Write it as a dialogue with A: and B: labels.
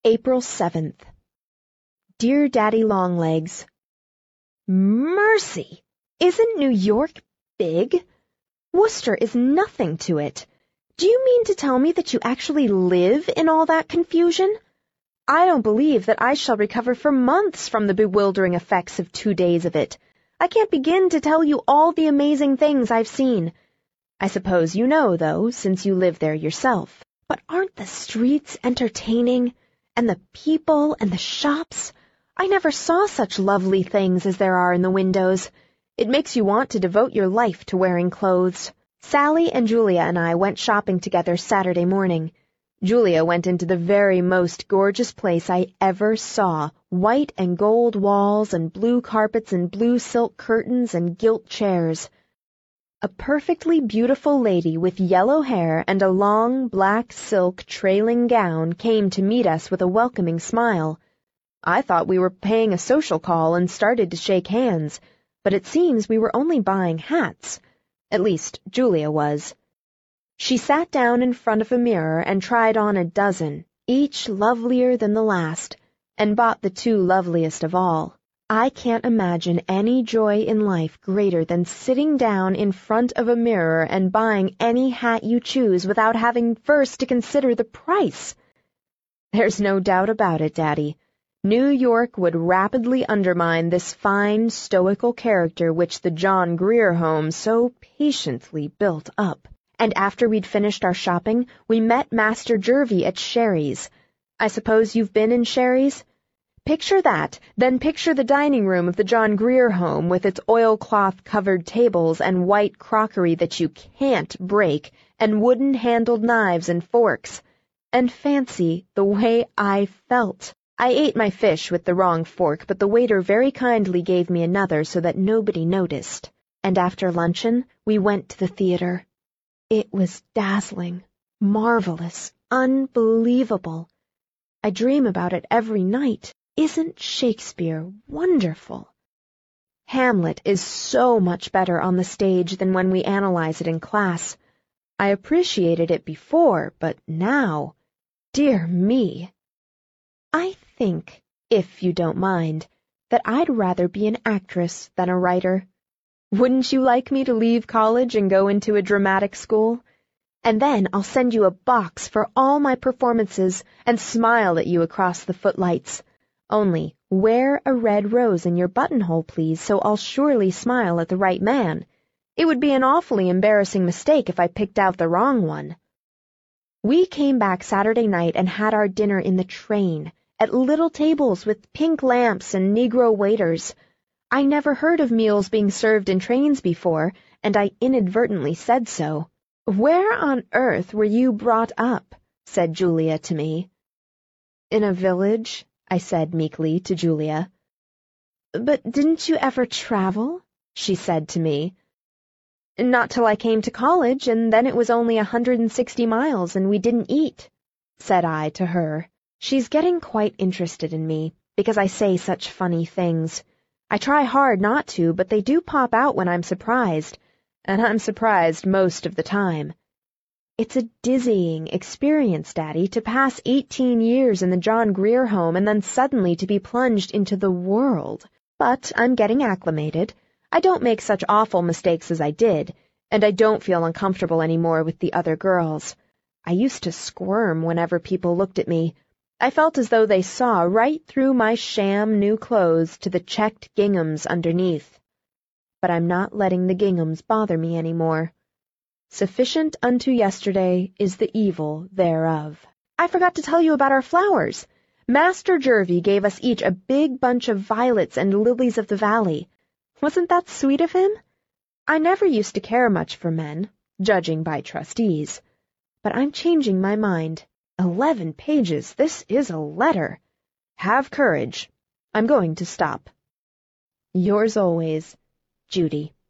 A: April 7th. Dear Daddy Longlegs, Mercy! Isn't New York big? Worcester is nothing to it. Do you mean to tell me that you actually live in all that confusion? I don't believe that I shall recover for months from the bewildering effects of 2 days of it. I can't begin to tell you all the amazing things I've seen. I suppose you know, though, since you live there yourself. But aren't the streets entertaining? And the people and the shops? I never saw such lovely things as there are in the windows. It makes you want to devote your life to wearing clothes. Sally and Julia and I went shopping together Saturday morning. Julia went into the very most gorgeous place I ever saw, white and gold walls and blue carpets and blue silk curtains and gilt chairs. A perfectly beautiful lady with yellow hair and a long black silk trailing gown came to meet us with a welcoming smile. I thought we were paying a social call and started to shake hands, but it seems we were only buying hats. At least, Julia was. She sat down in front of a mirror and tried on a dozen, each lovelier than the last, and bought the 2 loveliest of all. I can't imagine any joy in life greater than sitting down in front of a mirror and buying any hat you choose without having first to consider the price. There's no doubt about it, Daddy. New York would rapidly undermine this fine, stoical character which the John Grier Home so patiently built up. And after we'd finished our shopping, we met Master Jervie at Sherry's. I suppose you've been in Sherry's? Picture that, then picture the dining room of the John Grier Home with its oilcloth-covered tables and white crockery that you can't break, and wooden-handled knives and forks. And fancy the way I felt. I ate my fish with the wrong fork, but the waiter very kindly gave me another so that nobody noticed. And after luncheon, we went to the theater. It was dazzling, marvelous, unbelievable. I dream about it every night. Isn't Shakespeare wonderful? Hamlet is so much better on the stage than when we analyze it in class. I appreciated it before, but now, dear me. I think, if you don't mind, that I'd rather be an actress than a writer. Wouldn't you like me to leave college and go into a dramatic school? And then I'll send you a box for all my performances and smile at you across the footlights. Only, wear a red rose in your buttonhole, please, so I'll surely smile at the right man. It would be an awfully embarrassing mistake if I picked out the wrong one. We came back Saturday night and had our dinner in the train, at little tables with pink lamps and Negro waiters. I never heard of meals being served in trains before, and I inadvertently said so. "Where on earth were you brought up?" said Julia to me. "In a village," I said meekly to Julia. "But didn't you ever travel?" she said to me. "Not till I came to college, and then it was only 160 miles, and we didn't eat," said I to her. She's getting quite interested in me, because I say such funny things. I try hard not to, but they do pop out when I'm surprised, and I'm surprised most of the time. It's a dizzying experience, Daddy, to pass 18 years in the John Grier Home and then suddenly to be plunged into the world. But I'm getting acclimated. I don't make such awful mistakes as I did, and I don't feel uncomfortable anymore with the other girls. I used to squirm whenever people looked at me. I felt as though they saw right through my sham new clothes to the checked ginghams underneath. But I'm not letting the ginghams bother me anymore. Sufficient unto yesterday is the evil thereof. I forgot to tell you about our flowers. Master Jervie gave us each a big bunch of violets and lilies of the valley. Wasn't that sweet of him? I never used to care much for men, judging by trustees. But I'm changing my mind. 11 pages, this is a letter. Have courage. I'm going to stop. Yours always, Judy.